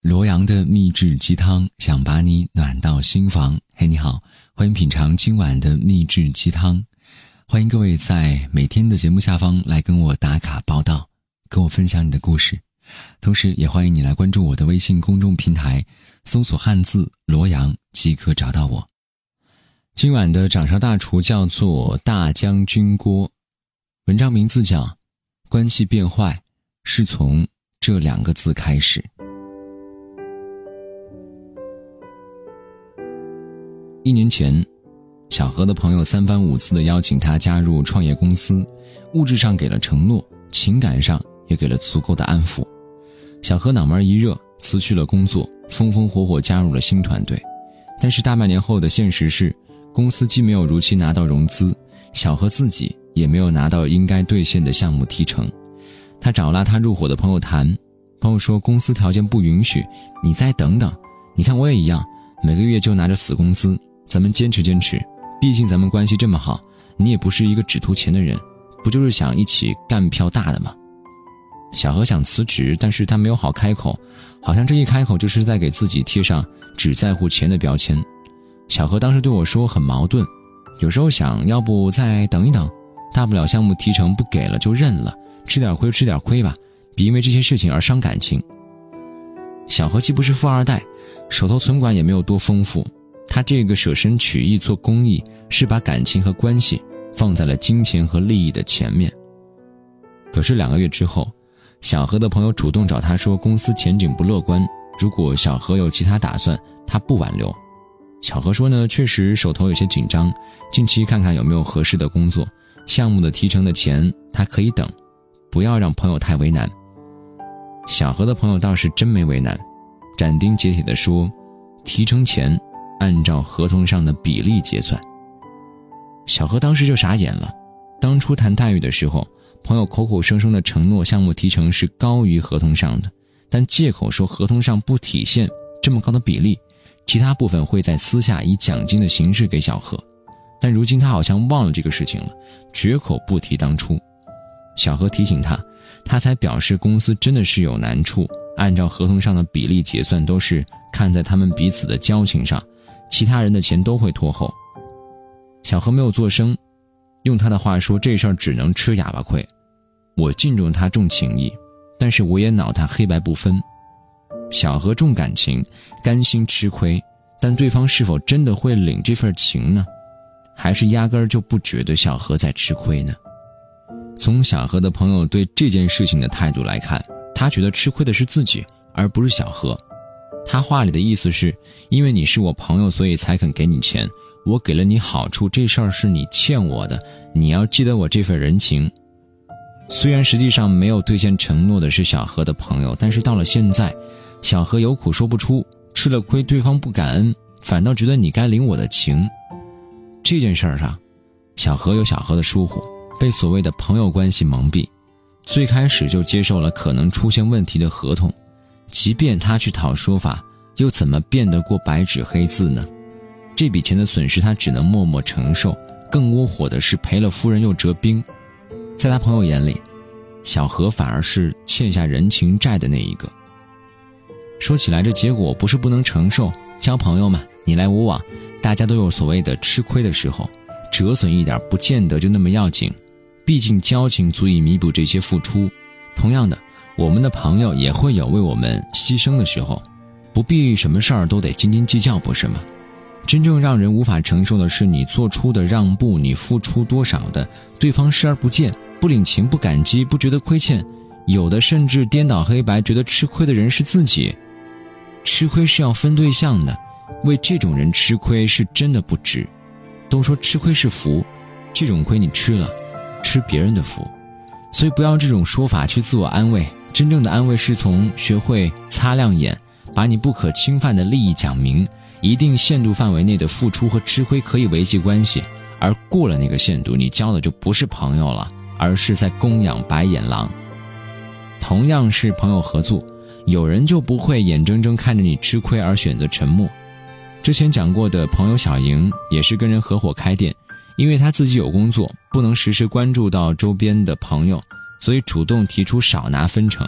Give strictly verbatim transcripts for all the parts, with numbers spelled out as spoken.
罗阳的秘制鸡汤，想把你暖到心房。嘿，你好，欢迎品尝今晚的秘制鸡汤。欢迎各位在每天的节目下方来跟我打卡报道，跟我分享你的故事。同时也欢迎你来关注我的微信公众平台，搜索汉字罗阳即可找到我。今晚的掌勺大厨叫做大将军锅，文章名字叫关系变坏是从这两个字开始。一年前，小何的朋友三番五次地邀请他加入创业公司，物质上给了承诺，情感上也给了足够的安抚。小何脑门一热，辞去了工作，风风火火加入了新团队。但是大半年后的现实是，公司既没有如期拿到融资，小何自己也没有拿到应该兑现的项目提成。他找拉他入伙的朋友谈，朋友说公司条件不允许，你再等等，你看我也一样，每个月就拿着死工资，咱们坚持坚持，毕竟咱们关系这么好，你也不是一个只图钱的人，不就是想一起干票大的吗？小何想辞职，但是他没有好开口，好像这一开口就是在给自己贴上只在乎钱的标签。小何当时对我说很矛盾，有时候想要不再等一等，大不了项目提成不给了就认了，吃点亏吃点亏吧，别因为这些事情而伤感情。小何既不是富二代，手头存款也没有多丰富，他这个舍身取义做公益，是把感情和关系放在了金钱和利益的前面。可是两个月之后，小何的朋友主动找他说公司前景不乐观，如果小何有其他打算，他不挽留。小何说呢，确实手头有些紧张，近期看看有没有合适的工作，项目的提成的钱他可以等，不要让朋友太为难。小何的朋友倒是真没为难，斩钉截铁地说，提成前按照合同上的比例结算。小何当时就傻眼了，当初谈待遇的时候，朋友口口声声的承诺项目提成是高于合同上的，但借口说合同上不体现这么高的比例，其他部分会在私下以奖金的形式给小何。但如今他好像忘了这个事情了，绝口不提当初。小何提醒他，他才表示公司真的是有难处，按照合同上的比例结算都是看在他们彼此的交情上，其他人的钱都会拖后。小何没有作声，用他的话说，这事儿只能吃哑巴亏。我敬重他重情义，但是我也恼他黑白不分。小何重感情，甘心吃亏，但对方是否真的会领这份情呢？还是压根儿就不觉得小何在吃亏呢？从小何的朋友对这件事情的态度来看，他觉得吃亏的是自己，而不是小何。他话里的意思是，因为你是我朋友，所以才肯给你钱，我给了你好处，这事儿是你欠我的，你要记得我这份人情。虽然实际上没有兑现承诺的是小何的朋友，但是到了现在，小何有苦说不出，吃了亏对方不感恩，反倒觉得你该领我的情。这件事儿上，小何有小何的疏忽，被所谓的朋友关系蒙蔽，最开始就接受了可能出现问题的合同，即便他去讨说法，又怎么辩得过白纸黑字呢？这笔钱的损失他只能默默承受，更窝火的是赔了夫人又折兵。在他朋友眼里，小何反而是欠下人情债的那一个。说起来这结果不是不能承受，交朋友嘛，你来我往，大家都有所谓的吃亏的时候，折损一点不见得就那么要紧，毕竟交情足以弥补这些付出。同样的，我们的朋友也会有为我们牺牲的时候，不必什么事儿都得斤斤计较，不是吗？真正让人无法承受的是你做出的让步，你付出多少的，对方视而不见，不领情，不感激，不觉得亏欠，有的甚至颠倒黑白，觉得吃亏的人是自己。吃亏是要分对象的，为这种人吃亏是真的不值。都说吃亏是福，这种亏你吃了，吃别人的福。所以不要这种说法去自我安慰，真正的安慰是从学会擦亮眼，把你不可侵犯的利益讲明，一定限度范围内的付出和吃亏可以维系关系，而过了那个限度，你交的就不是朋友了，而是在供养白眼狼。同样是朋友合作，有人就不会眼睁睁看着你吃亏而选择沉默。之前讲过的朋友小莹也是跟人合伙开店，因为他自己有工作，不能时时关注到周边的朋友，所以主动提出少拿分成。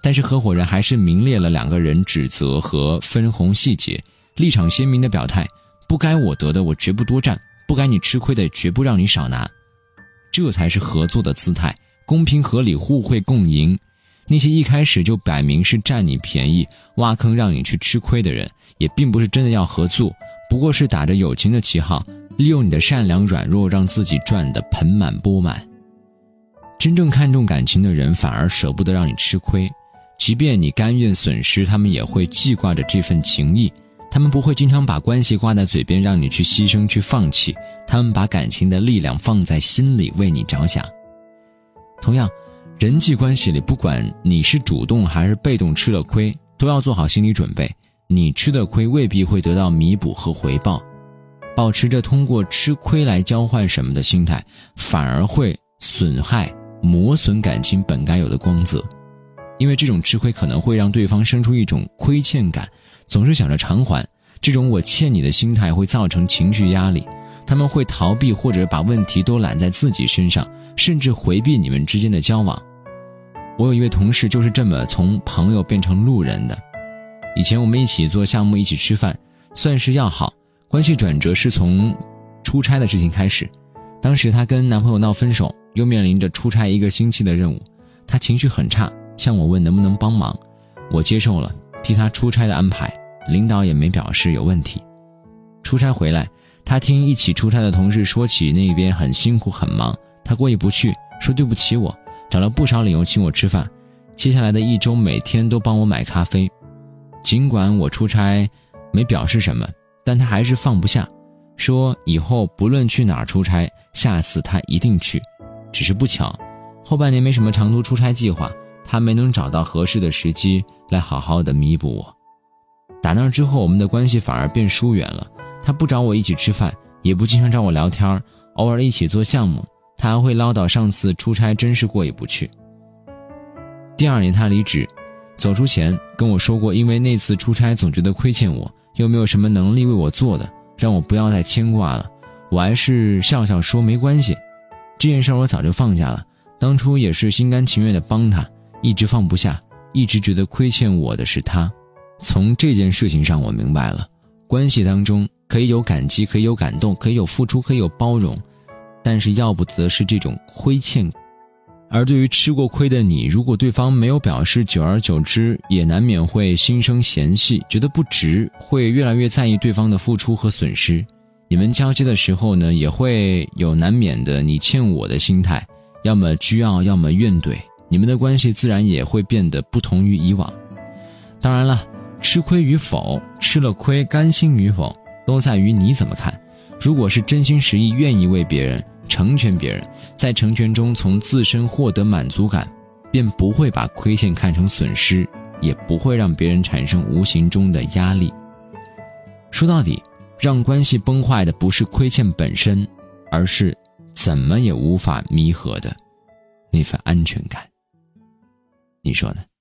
但是合伙人还是明列了两个人指责和分红细节，立场鲜明的表态，不该我得的我绝不多占，不该你吃亏的绝不让你少拿。这才是合作的姿态，公平合理，互惠共赢。那些一开始就摆明是占你便宜，挖坑让你去吃亏的人，也并不是真的要合作，不过是打着友情的旗号，利用你的善良软弱让自己赚得盆满钵满。真正看重感情的人反而舍不得让你吃亏，即便你甘愿损失，他们也会记挂着这份情谊，他们不会经常把关系挂在嘴边让你去牺牲去放弃，他们把感情的力量放在心里为你着想。同样，人际关系里不管你是主动还是被动吃了亏，都要做好心理准备，你吃的亏未必会得到弥补和回报。保持着通过吃亏来交换什么的心态，反而会损害磨损感情本该有的光泽。因为这种吃亏可能会让对方生出一种亏欠感，总是想着偿还，这种我欠你的心态会造成情绪压力，他们会逃避或者把问题都揽在自己身上，甚至回避你们之间的交往。我有一位同事就是这么从朋友变成路人的。以前我们一起做项目，一起吃饭，算是要好，关系转折是从出差的事情开始。当时她跟男朋友闹分手，又面临着出差一个星期的任务，她情绪很差，向我问能不能帮忙，我接受了替她出差的安排，领导也没表示有问题。出差回来，她听一起出差的同事说起那边很辛苦很忙，她过意不去，说对不起我，找了不少理由请我吃饭，接下来的一周每天都帮我买咖啡。尽管我出差没表示什么，但她还是放不下，说以后不论去哪儿出差，下次她一定去。只是不巧，后半年没什么长途出差计划，她没能找到合适的时机来好好的弥补我。打那之后，我们的关系反而变疏远了，她不找我一起吃饭，也不经常找我聊天，偶尔一起做项目，她还会唠叨上次出差真是过意不去。第二年她离职，走出前跟我说过，因为那次出差总觉得亏欠我，又没有什么能力为我做的，让我不要再牵挂了。我还是笑笑说没关系，这件事我早就放下了，当初也是心甘情愿的帮他，一直放不下，一直觉得亏欠我的是他。从这件事情上我明白了，关系当中可以有感激，可以有感动，可以有付出，可以有包容，但是要不得的是这种亏欠。而对于吃过亏的你，如果对方没有表示，久而久之也难免会心生嫌隙，觉得不值，会越来越在意对方的付出和损失。你们交接的时候呢，也会有难免的你欠我的心态，要么倨傲，要么怨怼，你们的关系自然也会变得不同于以往。当然了，吃亏与否，吃了亏甘心与否，都在于你怎么看。如果是真心实意愿意为别人成全别人，在成全中从自身获得满足感，便不会把亏欠看成损失，也不会让别人产生无形中的压力。说到底，让关系崩坏的不是亏欠本身，而是怎么也无法弥合的那份安全感。你说呢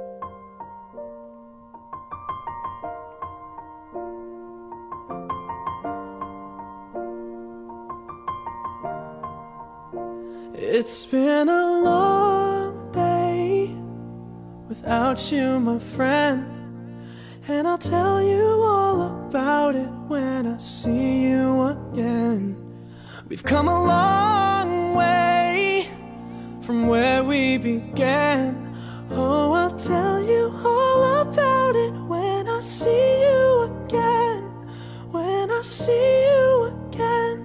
？It's been a long day without you, my friend, and I'll tell you all about it when I see you again. We've come a long way from where we began. Oh, I'll tell you all about it when I see you again, when I see you again.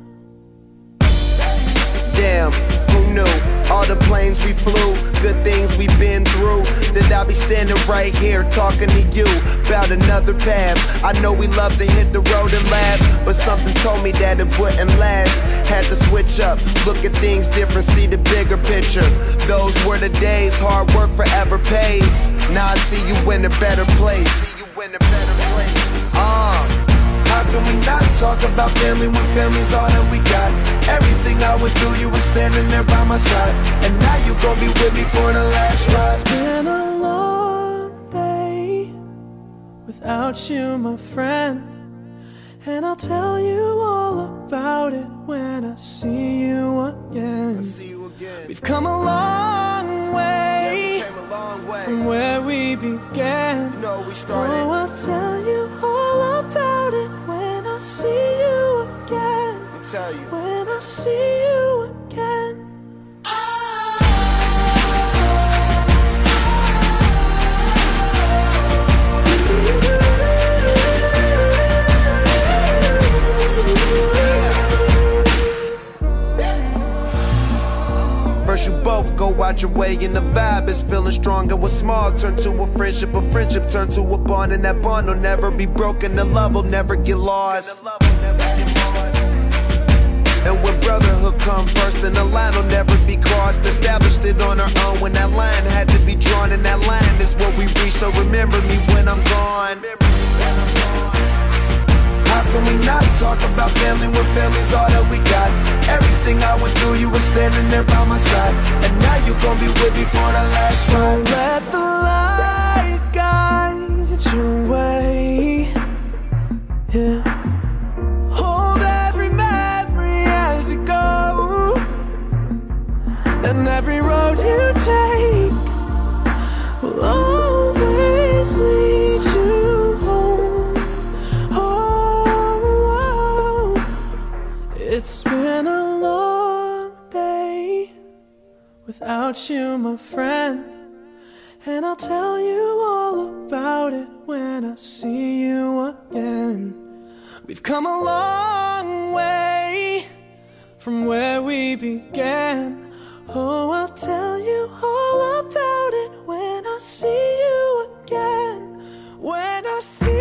Damn, who knew? All the planes we flew, good things we've been through, that I'll be standing right here talking to you about another path. I know we love to hit the road and laugh, but something told me that it wouldn't last. Had to switch up, look at things different, see the bigger picture. Those were the days, hard work forever pays. Now I see you in a better place. See you in a better place. Uh How can we not talk about family when family's all that we got? Everything I went through, you were standing there by my side, and now you gon' be with me for the last ride. It's been a long day without you, my friend, And I'll tell you all about it when I see you again. See you again. We've come a long way, yeah, we came a long way from where we began. You know, we started. Oh, I'll tell you all about it when I see you again. I'll tell you. When I see you again. First you both go out your way and the vibe is feeling strong. And what's small turn to a friendship, a friendship turn to a bond. And that bond will never be broken, the love will never get lost. And when brotherhood come first, then the line will never be crossed. Established it on our own when that line had to be drawn. And that line is what we reach, so remember me when I'm gone. How can we not talk about family when family's all that we got? Everything I went through, you were standing there by my side. And now you gon' be with me for the last ride. Let the light guide your way. Yeah. Hold every memory as you go, and every road you take will always lead you home. Oh, it's been a long day without you, my friend. And I'll tell you all about it when I see you again. We've come a long way from where we began. Oh, I'll tell you all about it when I see you again. When I see